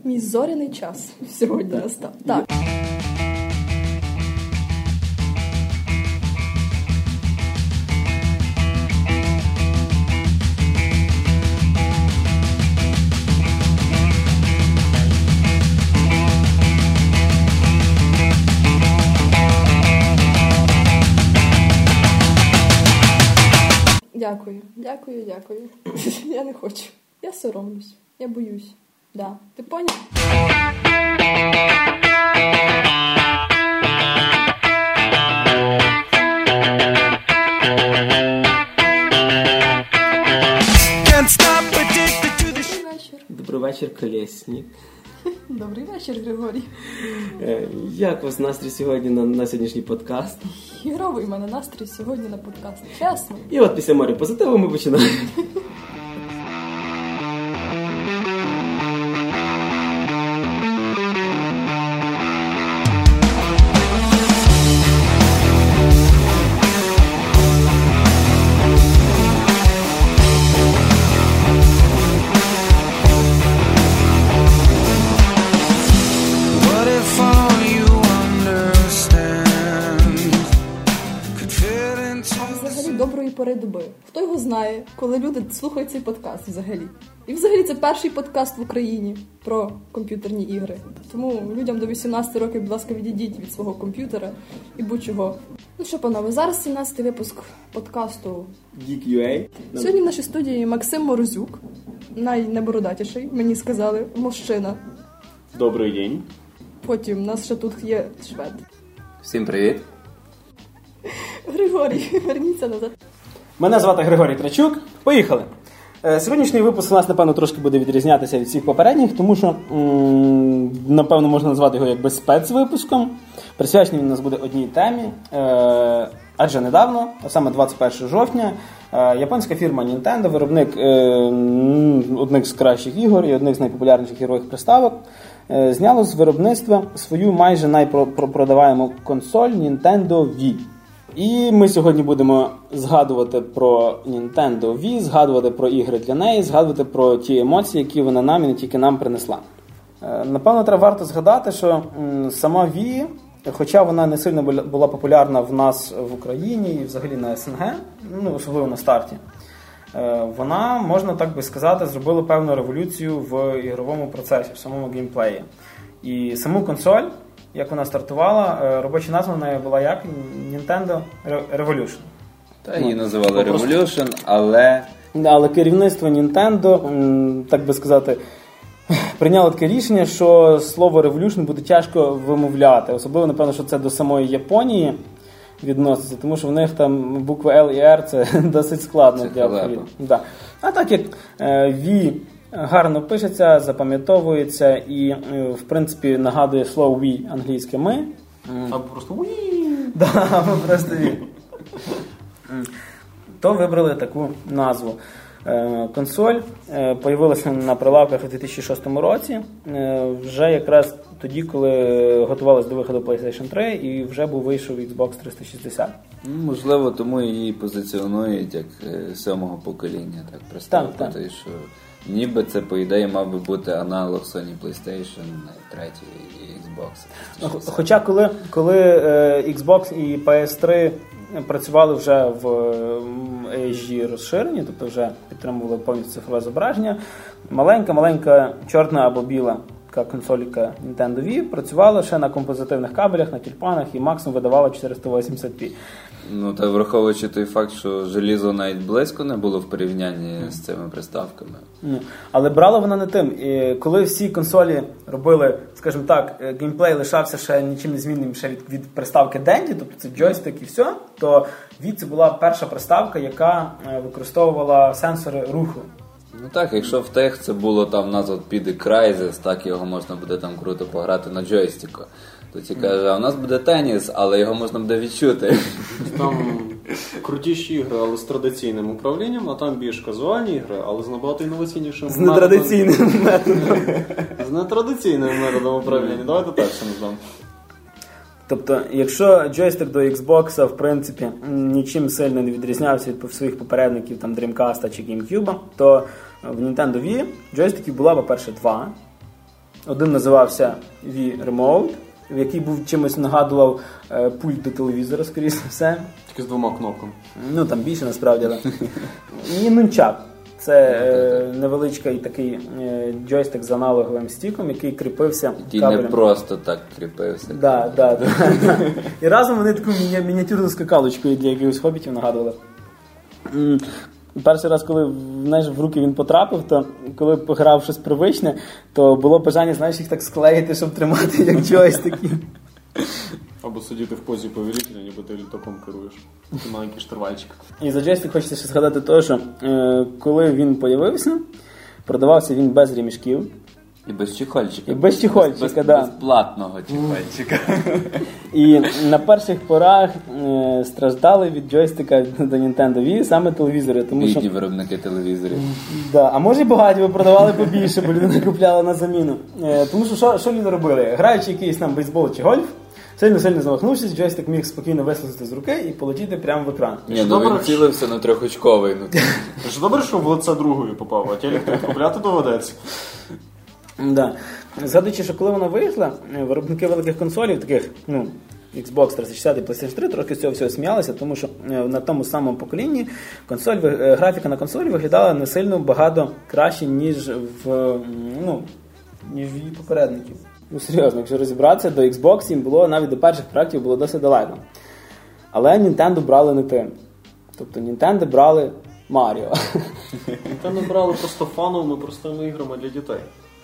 Мій зоряний час сьогодні настав. Так. Дякую. Я не хочу. Я соромлюсь. Я боюсь. Да. Ти поняв? Добрий вечір, Колєснік. Добрий вечір, Григорій. Як у вас настрій сьогодні на сьогоднішній подкаст? Геровий в мене настрій сьогодні на подкаст. Чесно. І от після моря позитиву ми починаємо. Доброї пори доби. Хто його знає, коли люди слухають цей подкаст взагалі. І взагалі це перший подкаст в Україні про комп'ютерні ігри. Тому людям до 18 років, будь ласка, відійдіть від свого комп'ютера і будь-чого. Ну що, панове, зараз 17-й випуск подкасту Geek.ua. Сьогодні в нашій студії Максим Морозюк, найнебородатіший, мені сказали, мужчина. Добрий день. Потім у нас ще тут є швед. Всім привіт. Григорій, верніться назад. Мене звати Григорій Трачук. Поїхали. Сьогоднішній випуск у нас, напевно, трошки буде відрізнятися від всіх попередніх, тому що, напевно, можна назвати його якби спецвипуском. Присвячений він у нас буде одній темі. Адже недавно, а саме 21 жовтня, японська фірма Nintendo, виробник одних з кращих ігор і одних з найпопулярніших ігрових приставок, зняло з виробництва свою майже найпродаваєму консоль Nintendo Wii. І ми сьогодні будемо згадувати про Nintendo Wii, згадувати про ігри для неї, згадувати про ті емоції, які вона нам і не тільки нам принесла. Напевно, треба варто згадати, що сама Wii, хоча вона не сильно була популярна в нас в Україні і взагалі на СНГ, особливо на старті, вона, можна так би сказати, зробила певну революцію в ігровому процесі, в самому геймплеї. І саму консоль, як вона стартувала, робоча назва в неї була як? Nintendo Revolution. Та її називали Revolution, але керівництво Nintendo, так би сказати, прийняло таке рішення, що слово Revolution буде тяжко вимовляти. Особливо, напевно, що це до самої Японії відноситься, тому що в них там букви L і R це досить складно. Да. А так як Wii гарно пишеться, запам'ятовується і, в принципі, нагадує слово Wii англійське ми. Або просто Wii. Да, або просто Wii. То вибрали таку назву. Консоль появилася на прилавках у 2006 році, вже якраз тоді, коли готувалися до виходу PlayStation 3 і вже вийшов Xbox 360. Можливо, тому її позиціонують як 7-го покоління, так приставку, тому що ніби це, по ідеї, мав би бути аналог Sony PlayStation 3 і Xbox. Хоча коли Xbox і PS3 працювали вже в HD розширенні, тобто вже підтримували повністю цифрове зображення, маленька чорна або біла консолька Nintendo Wii працювала ще на композитивних кабелях, на тюльпанах і максимум видавала 480p. Ну, та враховуючи той факт, що желізо навіть близько не було в порівнянні з цими приставками. Але брала вона не тим. І коли всі консолі робили, скажімо так, геймплей лишався ще нічим не змінним ще від приставки Dendy, тобто це джойстик і все, то Wii це була перша приставка, яка використовувала сенсори руху. Ну так, якщо в тих це було там назва піде Crysis, так його можна буде там круто пограти на джойстику. Тоді каже, а у нас буде теніс, але його можна буде відчути. Там крутіші ігри, але з традиційним управлінням, а там більш казуальні ігри, але з набагато інноваційнішим методом. З нетрадиційним методом. З нетрадиційним методом управління. Давайте так це назвемо. Тобто, якщо джойстик до Xbox, в принципі, нічим сильно не відрізнявся від своїх попередників, там, Dreamcast чи GameCube, то в Nintendo Wii джойстиків було, по-перше, два. Один називався Wii Remote, в який був чимось нагадував пульт до телевізора, скоріше все. Тільки з 2 кнопками. Ну, там більше, насправді. І нунчак. Це невеличкий такий джойстик з аналоговим стіком, який кріпився Який кабелем. не просто так кріпився. Да. І разом вони таку мініатюрну скакалочку для якихось хобітів нагадували. Перший раз, коли в руки він потрапив, то коли пограв щось привичне, то було бажання, знаєш, їх так склеїти, щоб тримати як джойстики. Або сидіти в позі повелителя, ніби ти літаком керуєш. Такий маленький штурвальчик. І за джойстик хочеться ще згадати те, що коли він появився, продавався він без ремішків. І без чехольчика. І без чехольчика, да. Без платного чехольчика. І на перших порах страждали від джойстика до Nintendo Wii саме телевізори. Тому Бідні що... виробники телевізорів. Да. А може і багаті, ви продавали побільше, бо люди не купляли на заміну. Тому що люди робили? Граючи якийсь там бейсбол чи гольф, сильно замахнувшись, джойстик міг спокійно вислизити з руки і полетіти прямо в екран. Ні, ну він цілився на трьохочковий. Ж добре, що в лице другої попав, а телек купляти доведеться. Да. Згадуючи, що коли вона вийшла, виробники великих консолів, таких, Xbox 360 і PlayStation 3, трохи з цього всього сміялися, тому що на тому самому поколінні графіка на консолі виглядала не сильно багато краще, ніж в її попередників. Ну, серйозно, якщо розібратися, до Xbox їм було, навіть до перших проєктів було досить далеко. Але Nintendo брали не тим. Тобто Nintendo брали Маріо. Nintendo брали просто фановими, простими іграми для дітей.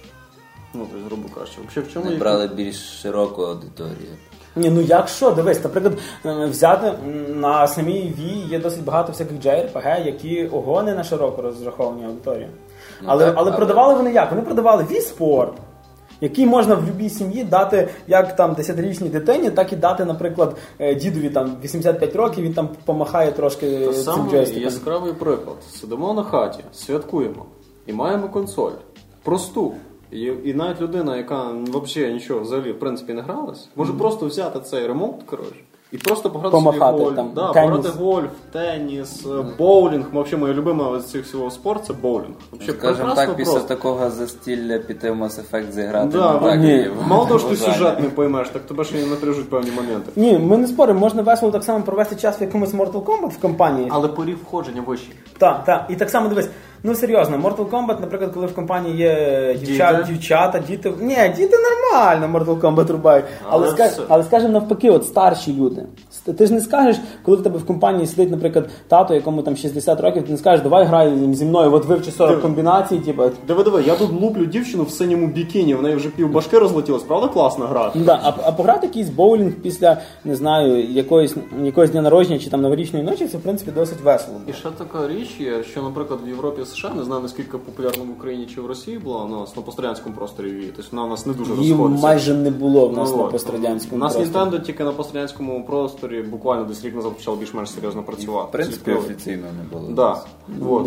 Ну, тобто, грубо кажучи. Взагалі, в чому Ми брали більш широку аудиторію. Ні, ну як що, дивись, наприклад, взяти на самій Wii є досить багато всяких JRPG, які не на широко розраховані аудиторії. Але продавали вони як? Вони продавали Wii Sport, який можна в будь-якій сім'ї дати як там 10-річній дитині, так і дати, наприклад, дідові там 85 років, він там помахає трошки цим джойстиком. Саме яскравий приклад. Сидимо на хаті, святкуємо і маємо консоль. Просту. І навіть людина, яка взагалі нічого взагалі в принципі не гралась, може просто взяти цей ремонт, і просто пограти собі в гольф. Пограти гольф, теніс, боулінг. Взагалі, моя любима з цих всього спорт це боулінг. Скажімо так, після такого застілля піти в Mass Effect зіграти. Мало того, що ти сюжет не поймеш, так тебе ще й напряжуть певні моменти. Ні, ми не споримо, можна весело так само провести час в якомусь Mortal Kombat в компанії. Але порів входження вищий. Так. І так само дивись, серйозно, Mortal Kombat, наприклад, коли в компанії є дівчата, діти... Ні, діти нормально Mortal Kombat рубають. Але скажімо навпаки, от старші люди. Ти ж не скажеш, коли в тебе в компанії сидить, наприклад, тато, якому там 60 років, ти не скажеш, давай грай зі мною, от вивчи 40 комбінацій, типу. Диви, я тут луплю дівчину в синьому бікіні, в неї вже пів башки розлетілась, правда класна гра? Да, а пограти якийсь боулінг після, не знаю, якогось дня народження чи там новорічної ночі, це в принципі досить весело. І ще така річ є, що, наприклад, в Європі США, не знаю, наскільки популярна в Україні чи в Росії була, у нас на пострадянському просторі Wii, тобто вона у нас не дуже розходиться. Її майже не було в нас на пострадянському просторі. У нас Nintendo тільки на пострадянському просторі буквально десь рік назад почав більш-менш серйозно працювати. В принципі, офіційно не було. Да. У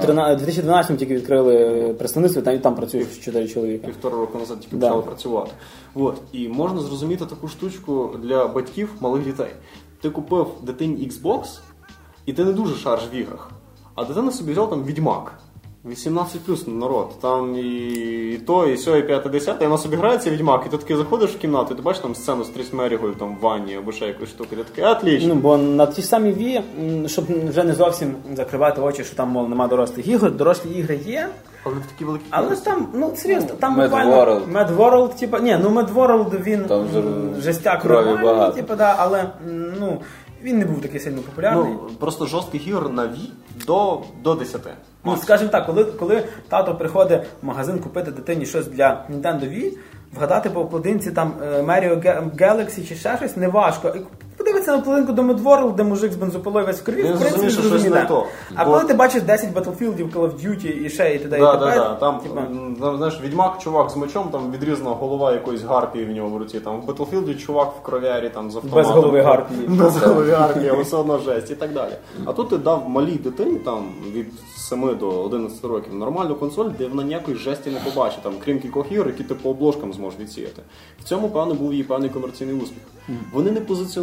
2012 тільки відкрили представництво, і там працюють 4 чоловіка. 1,5 року назад тільки почали працювати. І можна зрозуміти таку штучку для батьків малих дітей. Ти купив дитині Xbox, і ти не дуже шариш в іграх. А дитина собі взяла там Відьмак. 18+ народ. Там і то, і сьо, і 5-10. І вона собі грається Відьмак, і ти такий заходиш в кімнату, і ти бачиш там сцену з Тріс Мерігольд там в ванні або ще якусь штуку. І ти такий, отлично. Бо на ті самі Wii, щоб вже не зовсім закривати очі, що там, мов, нема дорослих ігор, дорослі ігри є. Але такі великі. Але там, серйозно, там буквально... Mad World, Mad World, він жестяк нормальний, але, він не був такий сильно популярний. Просто жорстких ігор на Wii до 10. Скажімо так, коли тато приходить в магазин купити дитині щось для Nintendo Wii, вгадати по обкладинці там Mario Galaxy чи ще щось не важко. Подивитися на обкладинку до Mad World, де мужик з бензопилою весь в крові, в принципі, зрозуміло. А коли ти бачиш 10 Battlefield'ів, Call of Duty і ще і т.д. Там, знаєш, Відьмак, чувак з мечом, там відрізана голова якоїсь гарпії в нього в руці. Там в Battlefield чувак в кров'ярі там з автоматом. Без голови гарпії. Без голови гарпії, але все одно жесть і так далі. А тут ти дав малій дитині там від 7 до 11 років нормальну консоль, де вона ніякої жесті не побачить, там, крім кількох ігор, які ти по обложкам зможеш відсіяти. В цьому, певно, був її певний комерційний успіх. Вони не позиціонували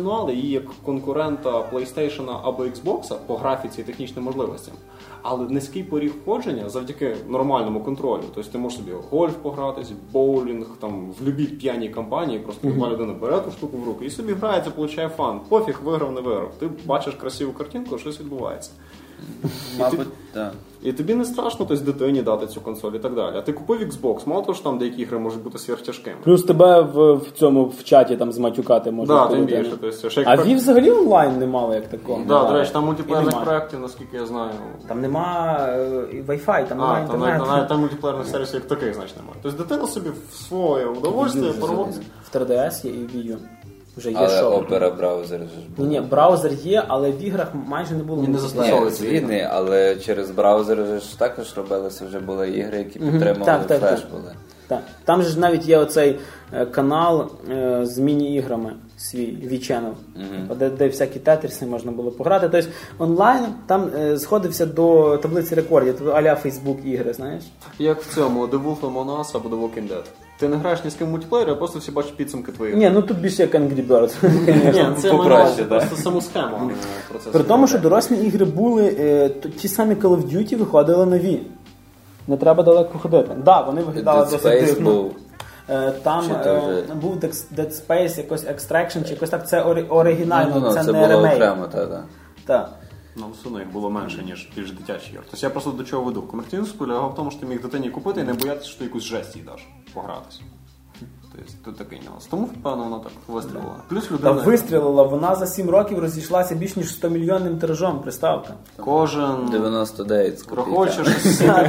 її як конкурента PlayStation або Xbox по графіці і технічним можливостям. Але низький поріг входження завдяки нормальному контролю. Тобто ти можеш собі в гольф погратись, боулінг, там, в любій п'яній компанії, просто люба людина бере ту штуку в руки і собі грається, получає фан. Пофіг, виграв, не виграв. Ти бачиш красиву картинку, щось відбувається. Мабуть, так. І тобі не страшно дитині дати цю консоль і так далі. А ти купив Xbox, мало того, що там деякі ігри можуть бути сверхтяжкими. Плюс тебе в чаті там зматюкати можуть. Да, тим більше. А Wii взагалі онлайн не мало як такого. Да, до речі, там мультиплеєрних проєктів, наскільки я знаю. Там нема Wi-Fi, там немає інтернету. Там мультиплеєрних сервісів як таких, значить, немає. Тобто дитина собі в своє удовольствие проводить. В 3DS є і Wii U. Вже є Але шоу. Opera браузер ж був. Ні, браузер є, але в іграх майже не було. Він не застосовується. Війни, але через браузер ж також робилися, вже були ігри, які підтримували флеш були. Так. Там же ж навіть є оцей канал з міні-іграми, свій V-Channel, де всякі тетріси можна було пограти. Тобто онлайн там сходився до таблиці рекордів, а-ля Facebook ігри, знаєш? Як в цьому The Wolf Among Us або The Walking Dead. Ти не граєш ні з ким в мультиплеєрі, а просто всі бачать підсумки твоїх. Ні, ну тут більше як Angry Birds. Ні, це попроще, просто саму схему процесу. При тому, що дорослі ігри були, ті самі Call of Duty виходили нові. Не треба далеко ходити. Так, да, вони виглядали досить дивно. Там був Dead Space, якось Extraction, чи якось так, це оригінально, це не ремейк. Окремо, так. Ну, все одно їх було менше, ніж більш дитячі ігри. Тобто я просто до чого веду. Комерційність полягав в тому, що ти міг дитині купити і не боятися, що ти якусь жесть їй даш погратися. Тобто тут такий нюанс. Тому, впевнено, вона так вистрілила. Плюс людина... Та вистрілила, вона за 7 років розійшлася більш ніж 100-мільйонним тиражом, представка. Кожен... 99 Враховуючи, що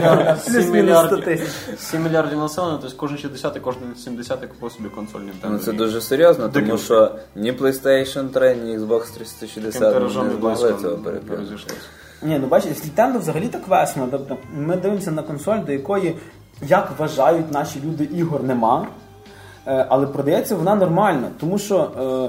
7 мільярдів населення, тобто кожен 60-й, кожен 70-й купив собі консоль Nintendo. Ну це дуже серйозно, тому що ні PlayStation 3, ні Xbox 360 не змогли цього перепрямити. Ні, ну бачиш, Nintendo взагалі так весело. Тобто ми дивимося на консоль, до якої, як вважають наші люди, ігор нема. Але продається вона нормально, тому що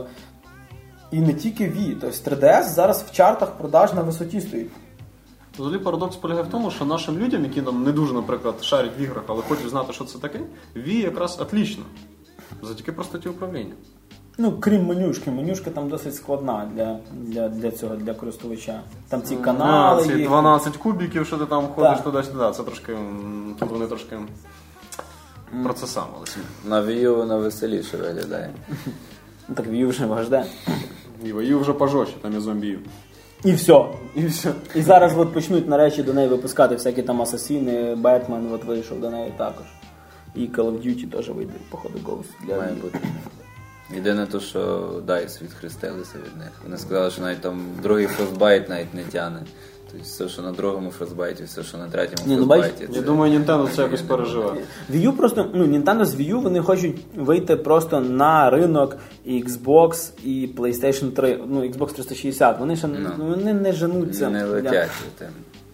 і не тільки Wii, тобто 3DS зараз в чартах продаж на висоті стоїть. Взагалі парадокс полягає в тому, що нашим людям, які нам не дуже, наприклад, шарять в іграх, але хочуть знати, що це таке, Wii якраз отлично. Завдяки простоті управління. Ну, крім менюшки. Менюшка там досить складна для цього, для користувача. Там ці канали. Ці 12 кубиків, що ти там ходиш туди-сюди. Це трошки, тут вони трошки процесамилися. На Wii U вона веселіше виглядає. Ну так Wii U вже в HD. І Wii U вже пожорстче, там є зомбі. І все. І зараз от почнуть нарешті до неї випускати всякі там Асасіни, Бетмен от вийшов до неї також. І Call of Duty теж вийде, походу, Ghost для Має Wii. бути. Єдине то, що DICE відхрестилися від них. Вони сказали, що навіть там другий Frostbite навіть не тягне. Тобто все, що на другому Frostbite, все, що на третьому Frostbite. Я думаю, Nintendo це якось переживе. Wii U просто, Nintendo з Wii U вони хочуть вийти просто на ринок і Xbox, і PlayStation 3, Xbox 360. Вони ще вони не женуться. Не летять тим.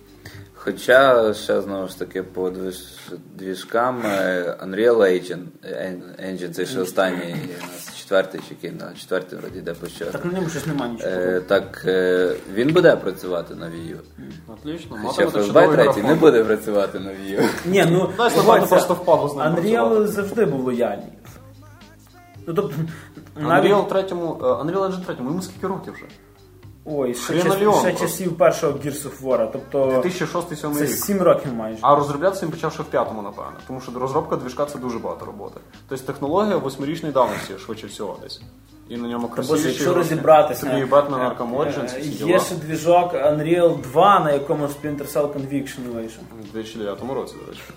Хоча, ще знову ж таки, по двіжкам Unreal Engine, це ще останній, у нас четвертий чи який, четвертий вроді де почав. Так на ньому щось немає нічого. Так, він буде працювати на Wii U. Отлично. Хоча Frostbite 3 не буде працювати на Wii U. Ні, ну, просто впадло з ним Unreal завжди був лояльний. Ну, тобто, Unreal Engine 3, йому скільки років вже? Ой, ще часів першого Gears of War, тобто 2006-2007 це рік. 7 років майже. А розроблятися він почав ще в 5-му, напевно. Тому що розробка движка це дуже багато роботи. Тобто технологія 8-річної давності, швидше всього десь. І на ньому красивіші. Якщо розібратися, тобі Batman Arkham Origins, всі діла. є ще движок Unreal 2, на якому Splinter Cell Conviction вийшов. У 2009 році, до речі.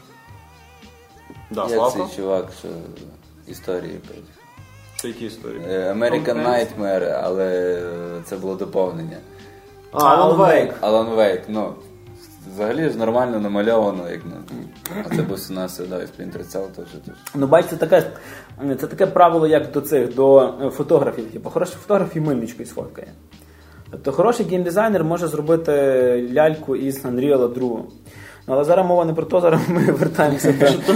Да, Як Славко? цей чувак, що історії перед. Це які історії? American Nightmare, але це було доповнення. Alan Wake. Alan Wake, взагалі ж нормально намальовано, як а це був 17 да, і Splinter Cell теж. Ну, бачите, це таке правило, як до фотографів. Типу, хороший фотограф і мильничкою сфоткає. Тобто хороший геймдизайнер може зробити ляльку із Unreal 2. Але зараз мова не про то, зараз ми вертаємося до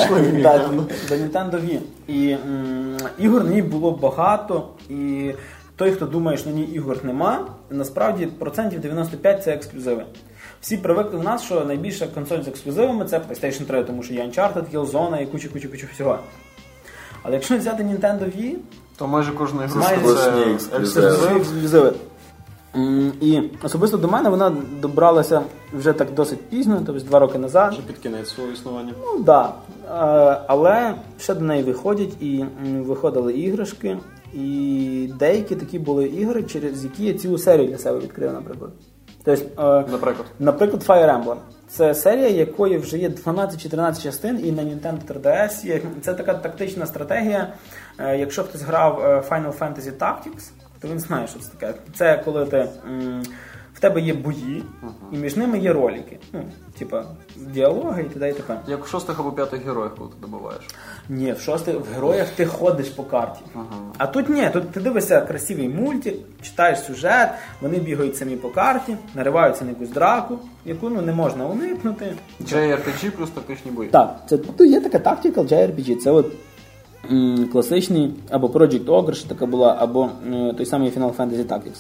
Nintendo Wii. І ігор на ній було багато, і той, хто думає, що на ній ігор нема, насправді 95% це ексклюзиви. Всі привикли в нас, що найбільша консоль з ексклюзивами це PlayStation 3, тому що є Uncharted, Killzone і куча всього. Але якщо взяти Nintendo Wii, То майже кожна ігрушка Майже це ексклюзиви. І особисто до мене вона добралася вже так досить пізно, тобто 2 роки назад. вже під кінець свого існування. Ну, так. Але ще до неї виходять і виходили іграшки. І деякі такі були ігри, через які я цілу серію для себе відкрив, наприклад. Тобто, наприклад, Fire Emblem. Це серія, якої вже є 12 чи 13 частин, і на Nintendo 3DS є. Це така тактична стратегія. Якщо хтось грав Final Fantasy Tactics, то він знає, що це таке. Це коли в тебе є бої, і між ними є ролики. Типа діалоги і т.д. і т.п. Як в 6-х або 5-х героях, коли ти добиваєш. Ні, в героях ти ходиш по карті. А тут ні, тут ти дивишся красивий мультик, читаєш сюжет, вони бігають самі по карті, нариваються на якусь драку, яку не можна уникнути. JRPG плюс тактичні бої. Так, це є така tactical JRPG, це от класичний, або Project Ogre, що така була, або той самий Final Fantasy Tactics.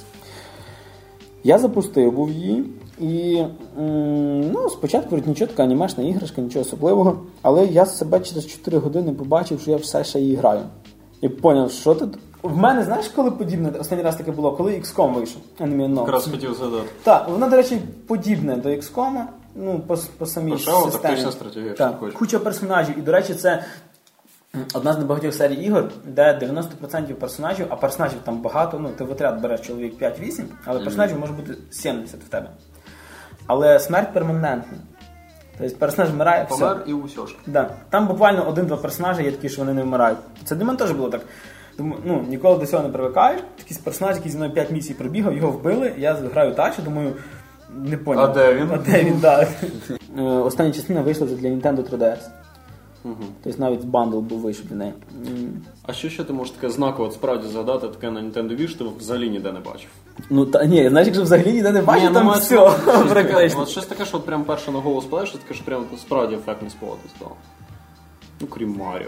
Я запустив був її, і спочатку нічого, така анімешна іграшка, нічого особливого, але я себе через 4 години побачив, що я все ще її граю. І поняв, що тут. В мене, знаєш, коли подібне, останній раз таке було, коли XCOM вийшов. Якраз хотів згадати. Так, воно, до речі, подібне до XCOM, по самій системі. Тактична стратегія, так, що хочеш. Куча персонажів, і, до речі, це одна з небагатьох серій ігор, де 90% персонажів, а персонажів там багато, ти в отряд береш чоловік 5-8, але персонажів може бути 70 в тебе. Але смерть перманентна. Тобто персонаж вмирає, все. Помер і усьошки. Да. Там буквально 1-2 персонажі є такі, що вони не вмирають. Це для мене теж було так. Думаю, ніколи до цього не привикаєш. Такий персонаж, який зі мною 5 місій пробігав, його вбили, я граю далі, думаю, не поняв. А де він? Так. Остання частина вийшла вже для Nintendo 3DS. Тобто навіть бандл був вийшов для неї. А що ще ти можеш таке знаково справді згадати, таке на Nintendo Wii, що ти взагалі ніде не бачив? Ні, знаєш, якщо взагалі ніде не бачив, там все прекрасно. От щось таке, що от прям перше на голову спадаєш, що таке, що прям справді ефектний спогад став. Крім Маріо.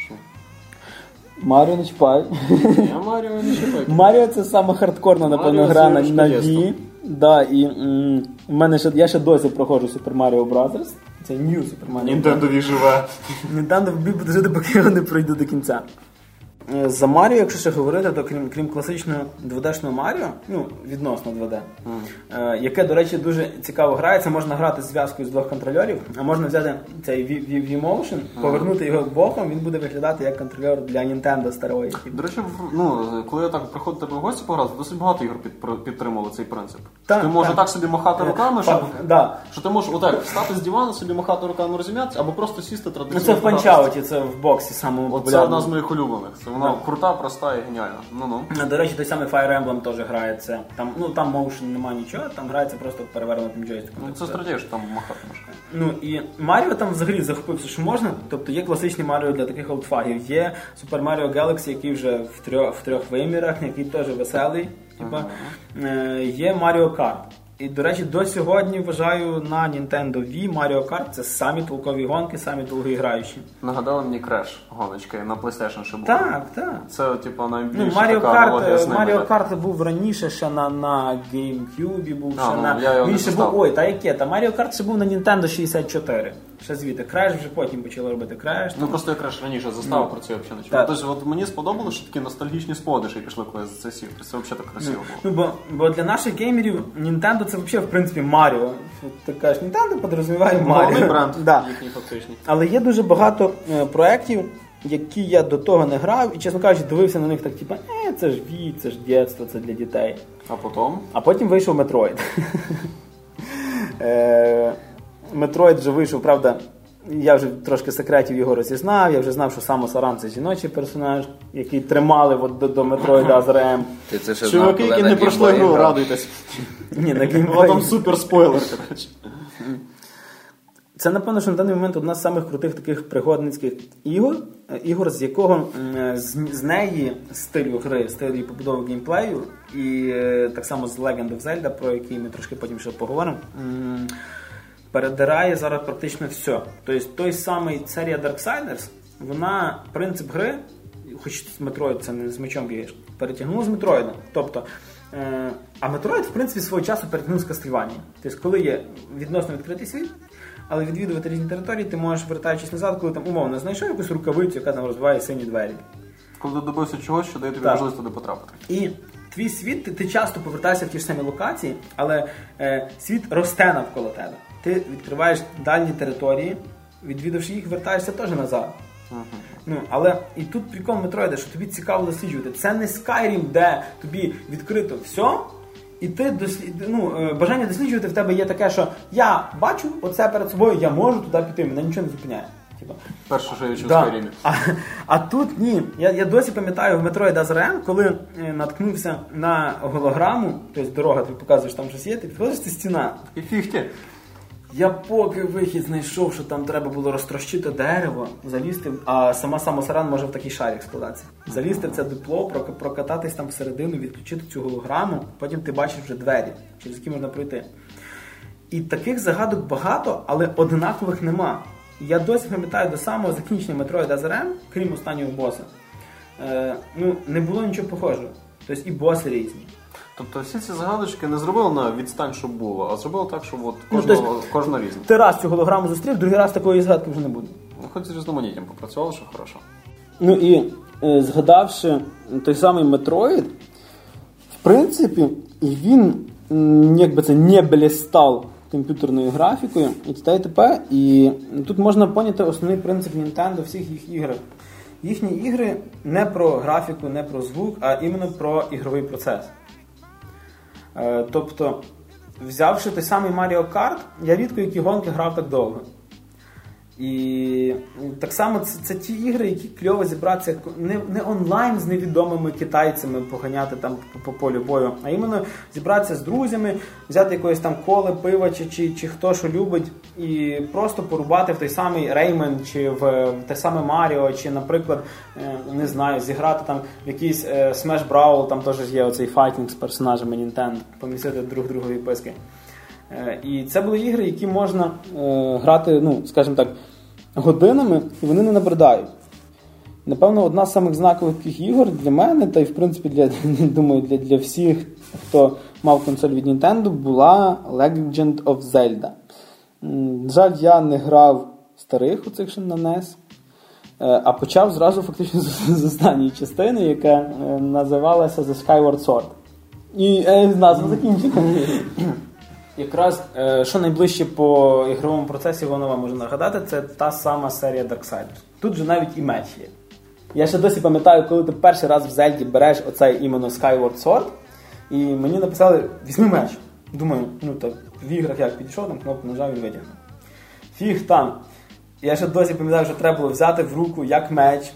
Маріо не чіпай. Я Маріо не чіпаю. Маріо це саме хардкорна, напевно, гра на Wii. Да, і в мене я ще досі проходжу Super Mario Bros. Це New Super Mario Bros. Nintendo Wii живе. Nintendo Wii буде жити, поки його не пройду до кінця. За Маріо, якщо ще говорити, то крім класичного 2D-шного Маріо, відносно 2D, яке, до речі, дуже цікаво грається, можна грати з зв'язкою з 2 контрольорів, а можна взяти цей V-Motion, повернути його боком, він буде виглядати як контрольор для Nintendo старої. До речі, коли я так приходив до тебе в гості пограти, досить багато ігор підтримували цей принцип. Так, ти можеш так собі махати руками, що ти можеш отак встати з дивану, собі махати руками, розім'ятися, або просто сісти традиційно. Це в Punch-Out, це в боксі самому популярному. Це одна з моїх улюблених. Вона крута, проста і геніальна. До речі, той самий Fire Emblem теж грається. Там моушен немає нічого, там грається просто перевернутим джойстиком. Це стратегія, що там махати можна. І Маріо там взагалі захопився, що можна. Тобто є класичний Маріо для таких олдфагів. Є Super Mario Galaxy, який вже в 3 вимірах, який теж веселий. Є Mario Kart. І, до речі, до сьогодні, вважаю, на Nintendo Wii Mario Kart це самі толкові гонки, самі довгоіграючі. Нагадали мені Crash гоночки на PlayStation ще були. Так. Це, найбільша така аналогія з ними. Mario Kart був раніше ще на GameCube, був ще на... Я його не застав. Mario Kart ще був на Nintendo 64. Ще звідти. Crash вже потім почали робити Crash. Просто я Crash раніше застав, про це я взагалі не чув. Тобто, мені сподобалося, що такі ностальгічні спогади ще пішли, коли я за це сів. Це взагалі так красиво було. Бо для наших геймерів Nintendo це взагалі, в принципі, Маріо. Ти кажеш, Nintendo підрозуміває Маріо. Головний бренд їхній фактичний. Але є дуже багато проєктів, які я до того не грав, і, чесно кажучи, дивився на них так, це ж Wii, це ж дитинство, це для дітей. А потім вийшов Metroid. Metroid вже вийшов, правда, я вже трошки секретів його розізнав, я вже знав, що Samus Aran це жіночий персонаж, який тримали до Metroid Other M. Чуваки, які не пройшли гру, радуйтесь. Ні, на Game там супер спойлер, коротше. Це, напевно, що на даний момент одна з самих крутих таких пригодницьких ігор, з якого з неї стилю гри, стилю побудови геймплею, і так само з Legend of Zelda, про який ми трошки потім ще поговоримо, передирає зараз практично все. Тобто той самий серія Darksiders, вона, принцип гри, хоч Metroid це не з мечом б'єш, перетягнула з Metroid. Тобто, а Metroid, в принципі, свого часу перетягнув з Castlevania. Тобто, коли є відносно відкритий світ, але відвідувати різні території, ти можеш, вертаючись назад, коли там умовно знайшов якусь рукавицю, яка там розбиває сині двері. коли ти добився чогось, що дає тобі Так. можливість туди потрапити. І твій світ, ти часто повертаєшся в ті ж самі локації, але світ росте навколо тебе. Ти відкриваєш дальні території, відвідавши їх, вертаєшся теж назад. Ну, але і тут прикол Метроїда, що тобі цікаво досліджувати. Це не Skyrim, де тобі відкрито все, і ти бажання досліджувати в тебе є таке, що я бачу оце перед собою, я можу туди піти, мене нічого не зупиняє. Перше, що я відчув в Да. Skyrim. А тут ні. Я досі пам'ятаю в Metroid Other M, коли наткнувся на голограму, тобто дорога, тобі показуєш, там щось є, ти підходиш, це стіна. І фіг. Я поки вихід знайшов, що там треба було розтрощити дерево, залізти, а сама самосаран може в такий шарик складатися. Залізти в це дупло, прокататись там всередину, відключити цю голограму, потім ти бачиш вже двері, через які можна пройти. І таких загадок багато, але однакових нема. Я досі пам'ятаю до самого закінчення Metroid Other M, крім останнього боса, не було нічого похожого. Тобто і боси різні. Тобто всі ці загадочки не зробили на відстань, щоб було, а зробили так, щоб кожна різна. Ти раз цю голограму зустрів, другий раз такої згадки вже не буде. Хоч з різноманіттям попрацювали, що хорошо. Ну і згадавши той самий Metroid, в принципі, він якби це не блістав комп'ютерною графікою і т.д. і т.п. І тут можна поняти основний принцип Nintendo всіх їх ігр. Їхні ігри не про графіку, не про звук, а іменно про ігровий процес. Тобто, взявши той самий Mario Kart, я рідко які гонки грав так довго. І так само це ті ігри, які кльово зібратися не онлайн з невідомими китайцями поганяти там по полю бою, а іменно зібратися з друзями, взяти якоїсь там коли, пива чи хто що любить і просто порубати в той самий Rayman чи в те саме Маріо, чи, наприклад, не знаю, зіграти там в якийсь Smash Brawl, там теж є оцей файтинг з персонажами Nintendo, помістити друг другові писки. І це були ігри, які можна грати, скажімо так, годинами, і вони не набридають. Напевно, одна з самих знакових таких ігор для мене, та й в принципі для всіх, хто мав консоль від Nintendo, була Legend of Zelda. Жаль, я не грав старих оцих ще на NES, а почав зразу фактично з останньої частини, яка називалася The Skyward Sword. І назва закінчена. Якраз, що найближче по ігровому процесі воно вам може нагадати, це та сама серія Darksiders. Тут же навіть і меч є. Я ще досі пам'ятаю, коли ти перший раз в Зельді береш оцей іменно Skyward Sword, і мені написали, візьми меч. Думаю, так, в іграх як підійшов, там кнопку нажав і витягнув. Фіг там. Я ще досі пам'ятаю, що треба було взяти в руку як меч,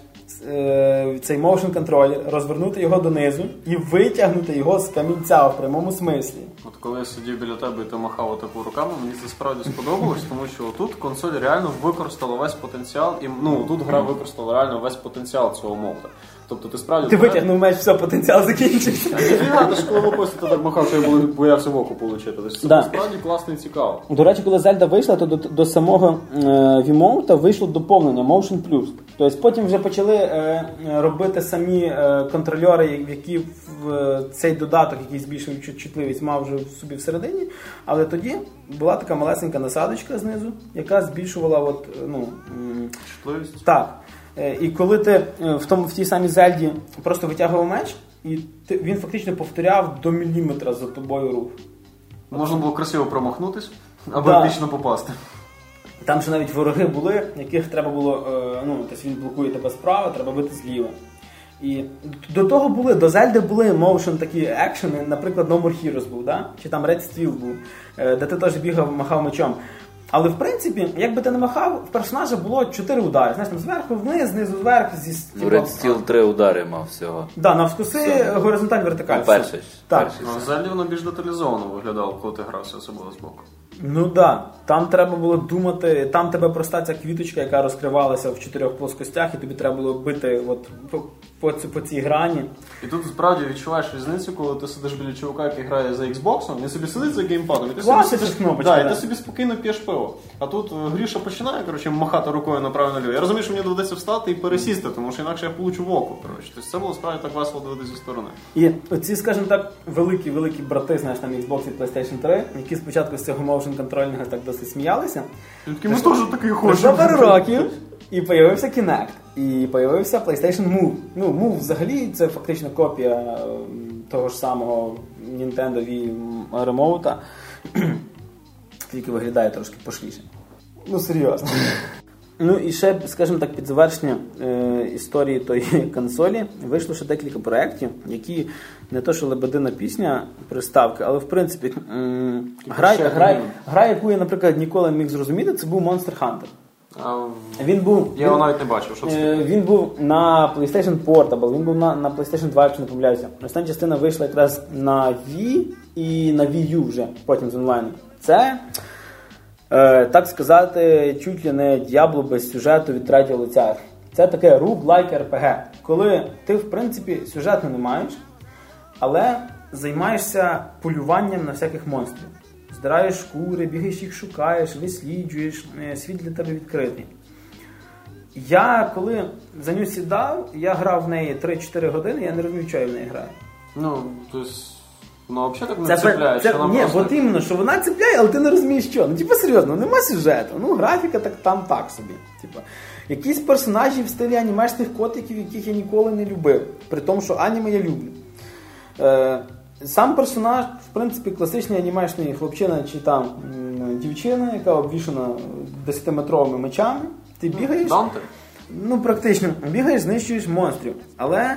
цей motion контролер, розвернути його донизу і витягнути його з камінця в прямому смислі. От коли я сидів біля тебе і ти махав отаку руками, мені це справді сподобалось, тому що тут консоль реально використала весь потенціал, і тут гра використала реально весь потенціал цього молота. Тобто ти справді... Ти витягнув меч, все, потенціал закінчився. Ніфіга, ти ж коли випустив, ти так махав, що я боявся в око отримати. Це справді класно і цікаво. До речі, коли Зельда вийшла, то до самого Wiimote вийшло доповнення Motion Plus. Тобто потім вже почали робити самі контрольори, які в цей додаток, який збільшує чутливість, мав вже собі всередині. Але тоді була така малесенька насадочка знизу, яка збільшувала чутливість? Так. І коли ти в тій самій Зельді просто витягував меч, і він фактично повторяв до міліметра за тобою рух. Можна було красиво промахнутись, або епічно попасти. Там ще навіть вороги були, яких треба було, тобто він блокує тебе справа, треба бити зліва. І до Зельди були моушен такі екшени, наприклад, No More Heroes був, да? Чи там Red Steel був, де ти теж бігав, махав мечом. Але, в принципі, як би ти не махав, в персонажа було 4 удари. Знаєш, там зверху вниз, знизу вверх, зі стілом. Red Steel 3 удари мав всього. Да, навскоси, горизонталь, вертикаль. Перший. Так. В Зельді воно більш деталізовано виглядало, коли ти грався особливо з боку. Ну так, там треба було думати, там тебе проста ця квіточка, яка розкривалася в 4 плоскостях, і тобі треба було бити по цій грані. І тут справді відчуваєш різницю, коли ти сидиш біля чувака, який грає за Xbox, він собі сидить за геймпадом, і ти собі спокійно п'єш пиво. А тут Гріша починає, махати рукою направо-наліво. Я розумію, що мені доведеться встати і пересісти, тому що інакше я получу в око. Тобто це було справді так весело дивитися зі сторони. І оці, скажімо так, великі брати, знаєш, там Xbox і PlayStation 3, які спочатку з цього motion motion контрольного так досить сміялися. Ми теж такий хочемо. Пройшло пару років, і появився Kinect, і появився PlayStation Move. Ну, Move взагалі це фактично копія того ж самого Nintendo Wii Remote, тільки виглядає трошки пошліше. Ну, серйозно. Ну і ще, скажімо так, під завершення історії тої консолі вийшло ще декілька проєктів, які не то що лебедина пісня приставки, але в принципі гра, яку я, наприклад, ніколи не міг зрозуміти, це був Monster Hunter. Я його навіть не бачив, що це. Він був на PlayStation Portable, він був на PlayStation 2, якщо не помиляюся. Остання частина вийшла якраз на Wii і на Wii U вже, потім з онлайну. Це, так сказати, чуть ли не Diablo без сюжету від третього лиця. Це таке roguelike RPG, коли ти, в принципі, сюжету не маєш, але займаєшся полюванням на всяких монстрів. Здираєш шкури, бігаєш їх шукаєш, висліджуєш, світ для тебе відкритий. Я, коли за нього сідав, я грав в неї 3-4 години, я не розумію, що я в неї граю. Ну, тобто, вона взагалі так не цепляє? Ні, просто... от іменно, що вона цепляє, але ти не розумієш, що. Ну, типу, серйозно, нема сюжету, ну, графіка так собі. Типу, якісь персонажі в стилі анімешних котиків, яких я ніколи не любив, при тому, що аніме я люблю. Сам персонаж, в принципі, класичний анімешний хлопчина чи там дівчина, яка обвішана 10-метровими мечами. Ти бігаєш, Данте? Ну, практично, бігаєш, знищуєш монстрів. Але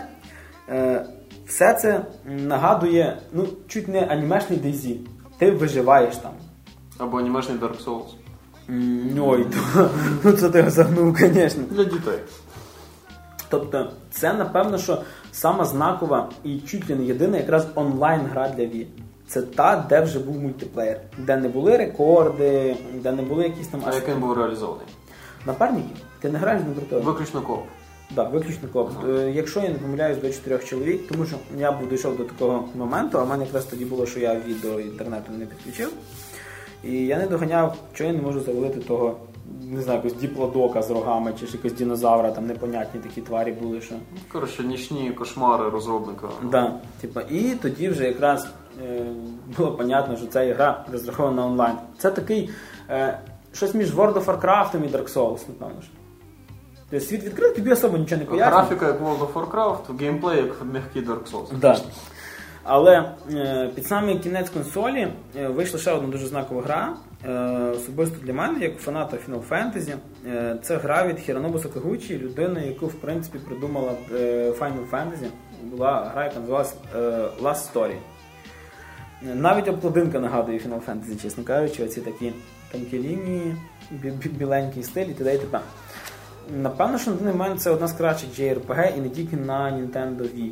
все це нагадує, ну, чуть не анімешний DayZ. Ти виживаєш там. Або анімешний Dark Souls. Ой, ну це ти загнув, звісно. Для дітей. Тобто, це, напевно, що сама знакова і чуть ли не єдина якраз онлайн-гра для Wii. Це та, де вже був мультиплеєр. Де не були рекорди, де не були якісь там... А яким був реалізований? Напарники? Ти не граєш на дротові? Виключно коп. Так, виключно коп. Якщо я не помиляюсь, до 4 чоловік, тому що я був дійшов до такого моменту, а в мене якраз тоді було, що я Wii до інтернету не підключив. І я не доганяв, що я не можу завалити того, не знаю, якогось діплодока з рогами, чи якогось динозавра, там непонятні такі тварі були, що... Коротше, нічні кошмари розробника. Да, типа, і тоді вже якраз було понятно, що ця гра розрахована на онлайн. Це такий, щось між World of Warcraft і Dark Souls, напевно. Тобто світ відкритий, тобі особо нічого не пояснює. Графіка як World of Warcraft, геймплей як м'який Dark Souls. Да. Але під самий кінець консолі вийшла ще одна дуже знакова гра, особисто для мене, як фаната Final Fantasy. Це гра від Хіронобу Сакагучі, людини, яку, в принципі, придумала Final Fantasy. Була гра, яка називалась Last Story. Навіть обкладинка нагадує Final Fantasy, чесно кажучи, оці такі тонкі лінії, біленький стиль і т.д. і т.п. Напевно, що на даний момент це одна з кращих JRPG і не тільки на Nintendo Wii.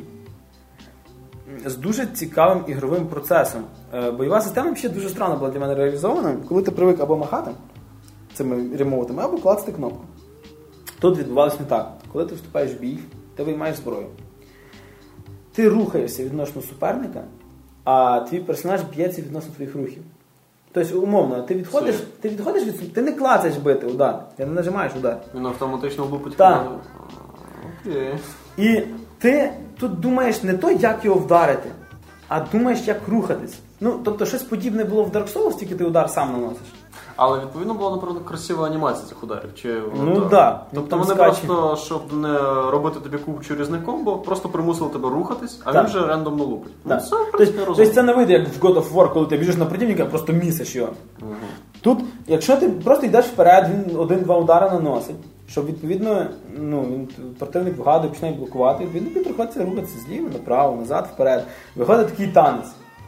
З дуже цікавим ігровим процесом. Бойова система ще дуже странно була для мене реалізована, коли ти привик або махати цими ремоутами, або клацати кнопку. Тут відбувалося не так. Коли ти вступаєш в бій, ти виймаєш зброю. Ти рухаєшся відносно суперника, а твій персонаж б'ється відносно твоїх рухів. Тобто, умовно, ти відходиш від... Ти не клацаєш бити удар, ти не нажимаєш удар. Він автоматично лупить. Так. Окей. І ти тут думаєш не то, як його вдарити, а думаєш, як рухатись. Ну, тобто, щось подібне було в Dark Souls, тільки ти удар сам наносиш. Але, відповідно, була, наприклад, красива анімація цих ударів. Чи, ну, так. Да. Тобто вони просто, щоб не робити тобі купчу різних комбо, просто примусили тебе рухатись, а він вже рандомно лупить. Да. Ну, це, в принципі, розумно. Тобто це не вийде, як в God of War, коли ти біжиш на противника, просто місиш його. Угу. Тут, якщо ти просто йдеш вперед, він 1-2 удари наносить, щоб, відповідно, ну, противник вгадує, починає блокувати, відповідно, тобі приходиться рухатися зліва, направо, назад, вперед. Виходить такий танець.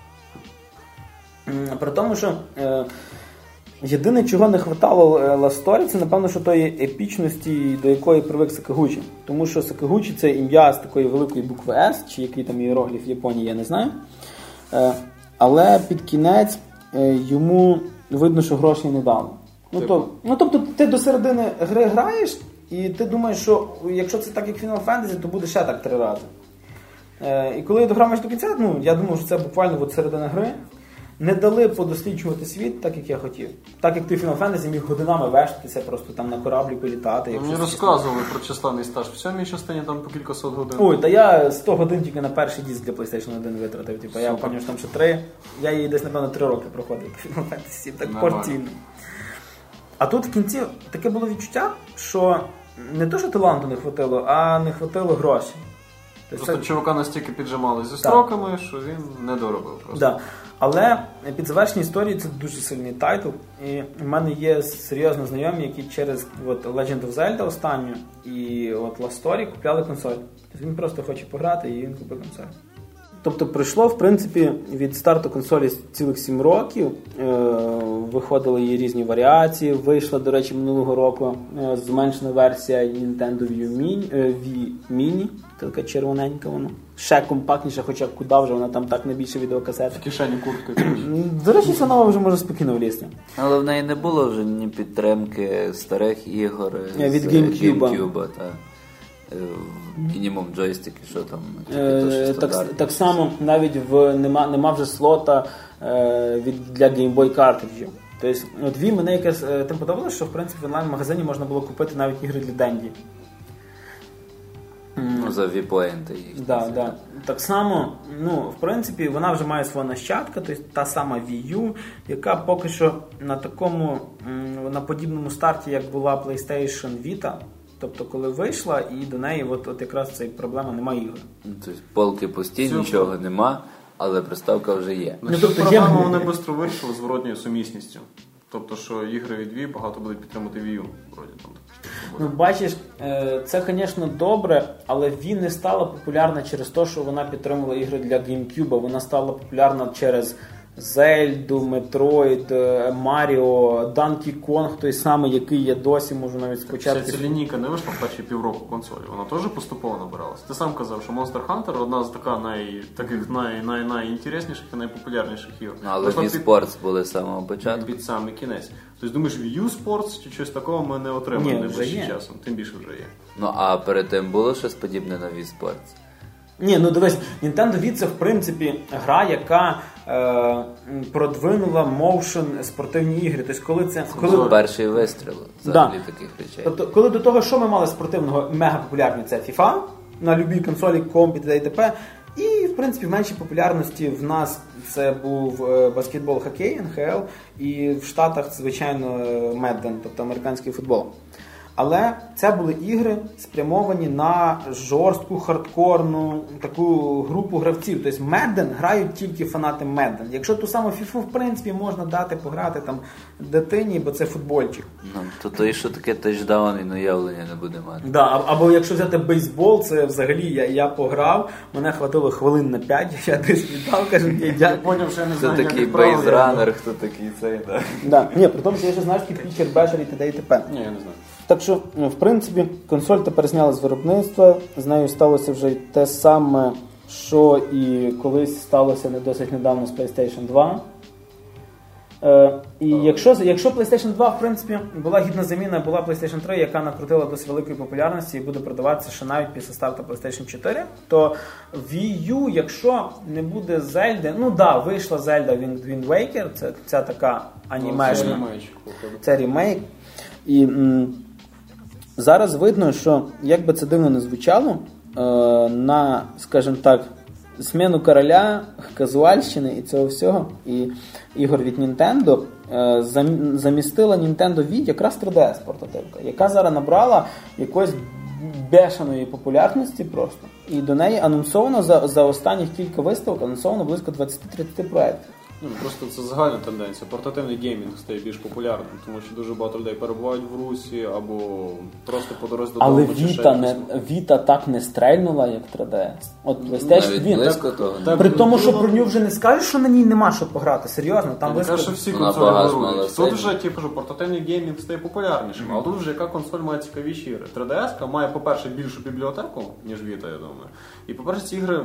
При тому, що єдине, чого не хватало Last Story, це, напевно, що тої епічності, до якої привик Сакагучі. Тому що Сакагучі – це ім'я з такої великої букви S, чи який там іерогліф в Японії, я не знаю. Але під кінець йому видно, що грошей не дали. Тобто ти до середини гри граєш, і ти думаєш, що якщо це так, як Final Fantasy, то буде ще так 3 рази. І коли я дограв майже до кінця, я думав, що це буквально середина гри. не дали подосліджувати світ, так як я хотів. Так як ти Final Fantasy міг годинами вештатися, просто там на кораблі політати. Мені розказували про численний стаж. В 7-й частині там по кількасот годин. Ой, та я 100 годин тільки на перший диск для PlayStation 1 витратив. Типу, я пам'ятаю, що там ще 3. Я її десь, напевно, 3 роки проходив по Final Fantasy 7, так порційно. А тут в кінці таке було відчуття, що не то, що таланту не хватило, а не хватило грошей. Просто чувака настільки піджимали зі строками, що він не доробив просто. Да. Але під завершення історії це дуже сильний тайтл. І в мене є серйозно знайомі, які через Legend of Zelda останню і Last Story купляли консоль. Тобто він просто хоче пограти і він купив консоль. Тобто пройшло, в принципі, від старту консолі цілих 7 років. Виходили її різні варіації. Вийшла, до речі, минулого року зменшена версія Nintendo Wii Mini. Така червоненька вона. Ще компактніша, хоча куди вже вона там так не більше відеокасет. В кишені куртки. До речі, ця нова вже може спокійно влізти. Але в неї не було вже ні підтримки старих ігор від GameCube. Мінімум джойстики, що там. Так само навіть нема вже слота для Game Boy картриджів. Тобто, от Wii мене якось тим подобалося, що в принципі в онлайн-магазині можна було купити навіть ігри для Денді. За Wii-поінти їх. Да. Так само, в принципі, вона вже має свого нащадка, тобто та сама Wii U, яка поки що на подібному старті, як була PlayStation Vita. Тобто, коли вийшла, і до неї от якраз ця проблема, немає ігор. Тобто, полки пусті, нічого нема, але приставка вже є. Тобто, програму вони швидко вийшли зворотньою сумісністю. Тобто, що ігри від Wii багато будуть підтримувати Wii U. Бачиш, це, звісно, добре, але Wii не стала популярна через те, що вона підтримувала ігри для GameCube. Вона стала популярна через Зельду, Метроїд, Маріо, Donkey Kong, той самий, який є досі, можу навіть спочатку. Ця лінійка не вийшла в перші півроку консолі, вона теж поступово набиралась. Ти сам казав, що Monster Hunter одна з таких найінтересніших і найпопулярніших ігор. Але Wii Sports були з самого початку. Під самий кінець. Тобто, думаєш, Wii U Sports чи щось такого ми не отримаємо найближчим часом, тим більше вже є. А перед тим було щось подібне на Wii Sports? Ні, дивись, Nintendo Wii це, в принципі, гра, яка продвинула моушен спортивні ігри. Тобто, коли перший вистріл взагалі таких речей. Тобто, коли до того, що ми мали спортивного мега-популярні, це FIFA, на любій консолі, компі, т.д. І, в принципі, в меншій популярності в нас це був баскетбол, хокей, НХЛ, і в Штатах, звичайно, Madden, тобто американський футбол. Але це були ігри, спрямовані на жорстку, хардкорну таку групу гравців. Тобто Madden грають тільки фанати Madden. Якщо ту саму FIFA, в принципі, можна дати пограти там дитині, бо це футбольчик. То той, що таке тачдаун, він уявлення не буде мати. Да, або якщо взяти бейсбол, це взагалі я пограв, мене хватило хвилин на 5, я десь віддав, кажу, дякую. Хто такий бейсранер, хто такий цей, так? Да. Ні, при тому, що я ще знаю, що пічер, бешер і т.д. і т.п. Ні, я не знаю. Так що, в принципі, консоль тепер зняли з виробництва, з нею сталося вже те саме, що і колись сталося не досить недавно з PlayStation 2. І якщо PlayStation 2, в принципі, була гідна заміна, була PlayStation 3, яка накрутила досить великої популярності і буде продаватися ще навіть після старту PlayStation 4, то Wii U, якщо не буде Zelda, вийшла Zelda Wind Waker, це така анімешна, це ремейк. І зараз видно, що, як би це дивно не звучало, на, скажімо так, зміну короля, казуальщини і цього всього, і ігор від Nintendo, замістила Nintendo Wii якраз 3DS-портативка, яка зараз набрала якоїсь бешеної популярності просто. І до неї анонсовано за останніх кілька виставок, анонсовано близько 20-30 проєктів. Просто це загальна тенденція. Портативний геймінг стає більш популярним, тому що дуже багато людей перебувають в Русі або просто по дорозі додому. Але Vita так не стрельнула, як 3DS. От PlayStation Vita. При тому, що про нього вже не скажеш, що на ній нема що пограти. Серйозно, там вискочить. Що всі консолі ворують. Тут вже, портативний геймінг стає популярнішим, а тут вже яка консоль має цікавіші ігри. 3DS має, по-перше, більшу бібліотеку, ніж Vita, я думаю. І, по-перше, ці ігри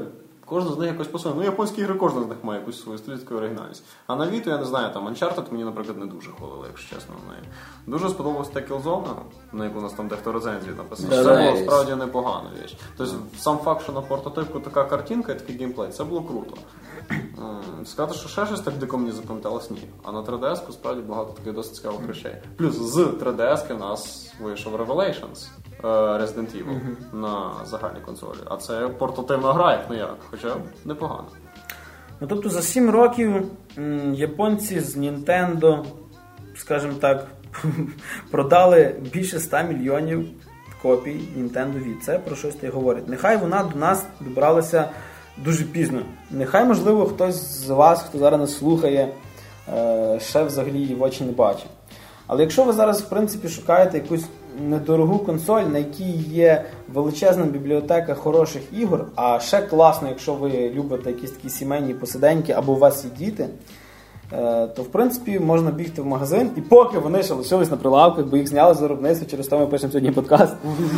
Кожна з них якось по-своєму. Японські ігри, кожна з них має якусь свою стилістику і оригінальність. А на Vita, я не знаю, там Uncharted мені, наприклад, не дуже хвалили, якщо чесно. Дуже сподобалася та Killzone, на яку у нас там дехто рецензію написав. Це було справді непогана річ. Тобто сам факт, що на портативку така картинка і такий геймплей, це було круто. Сказати, що ще щось так дико мені запам'яталось, ні. А на 3DS-ку справді багато таких досить цікавих речей. Плюс з 3DS-ки в нас вийшов Revelations Resident Evil на загальній консолі. А це портативна гра, як не як, хоча непогано. Ну, тобто за 7 років японці з Nintendo, скажімо так, продали більше 100 мільйонів копій Nintendo Wii. Це про щось і говорить. Нехай вона до нас добралася дуже пізно. Нехай, можливо, хтось з вас, хто зараз нас слухає, ще взагалі її в очі не бачив. Але якщо ви зараз, в принципі, шукаєте якусь недорогу консоль, на якій є величезна бібліотека хороших ігор, а ще класно, якщо ви любите якісь такі сімейні посиденьки, або у вас є діти, то, в принципі, можна бігти в магазин, і поки вони ще лишились на прилавках, бо їх зняли з виробництва, через то ми пишемо сьогодні подкаст,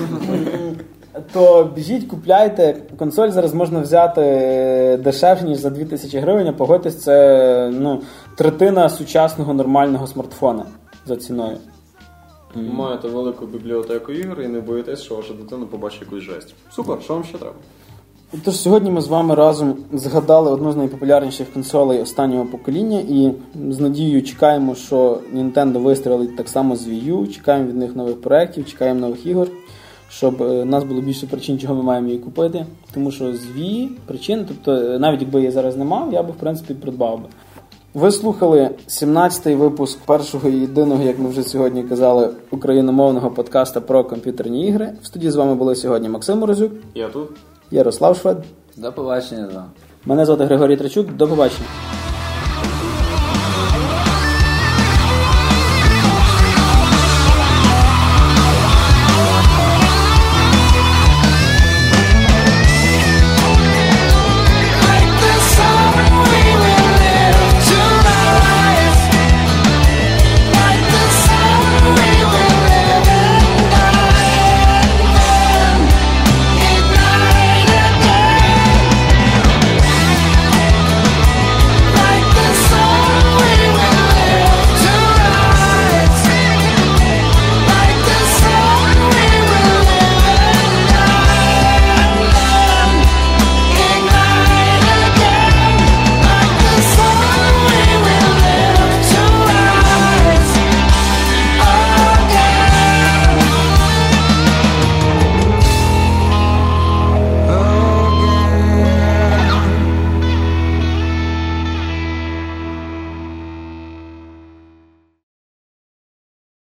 то біжіть, купляйте. Консоль зараз можна взяти дешевше, ніж за 2000 гривень, а погодьтесь, це третина сучасного нормального смартфона за ціною. Маєте велику бібліотеку ігор і не боїтесь, що ваша дитина побачить якусь жесть. Супер, що вам ще треба? Тож сьогодні ми з вами разом згадали одну з найпопулярніших консолей останнього покоління і з надією чекаємо, що Nintendo вистрілить так само з Wii U, чекаємо від них нових проєктів, чекаємо нових ігор, щоб у нас було більше причин, чого ми маємо її купити. Тому що з Wii причин, тобто навіть якби я зараз не мав, я б в принципі придбав би. Ви слухали 17-й випуск першого і єдиного, як ми вже сьогодні казали, україномовного подкаста про комп'ютерні ігри. В студії з вами були сьогодні Максим Морозюк. Я тут. Ярослав Швед. До побачення. Мене звати Григорій Трачук. До побачення.